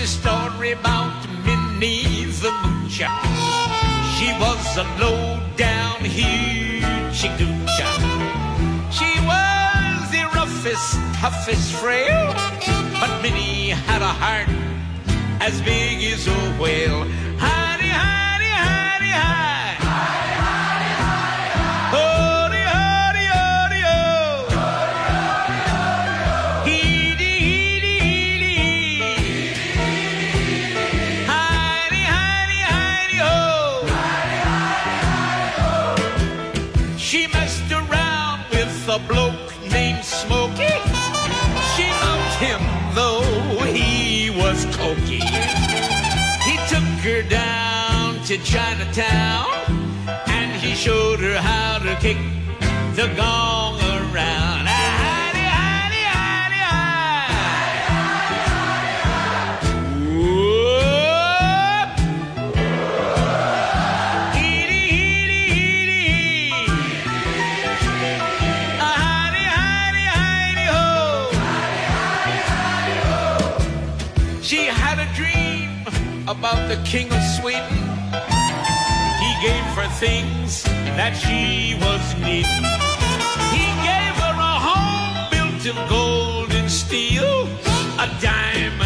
a story about Minnie the Moocher. She was a low-down hoochie-goocher. She was the roughest, toughest frail, but Minnie had a heart as big as a whale. Hidey, hidey, hidey, hide. Hidey, hidey, hidey, hide. Hody, hody, hody, ho. Hody, hody, hody, ho. Heedy, heedy, heedy, heedy. Hidey, hidey, hidey, ho. Hidey, hidey, hidey, ho. She messed around with a bloke named Smokey. She loved him though he was cokey. He took her down to Chinatown and he showed her how to kick the gong around. Hidey, hidey, hidey, hide. Whoop. Heedy, heedy, heedy, hee. Hidey, hidey, hidey, ho. She had a dream about the King of Sweden. He gave her things that she was needing. He gave her a home built of gold and steel, a diamond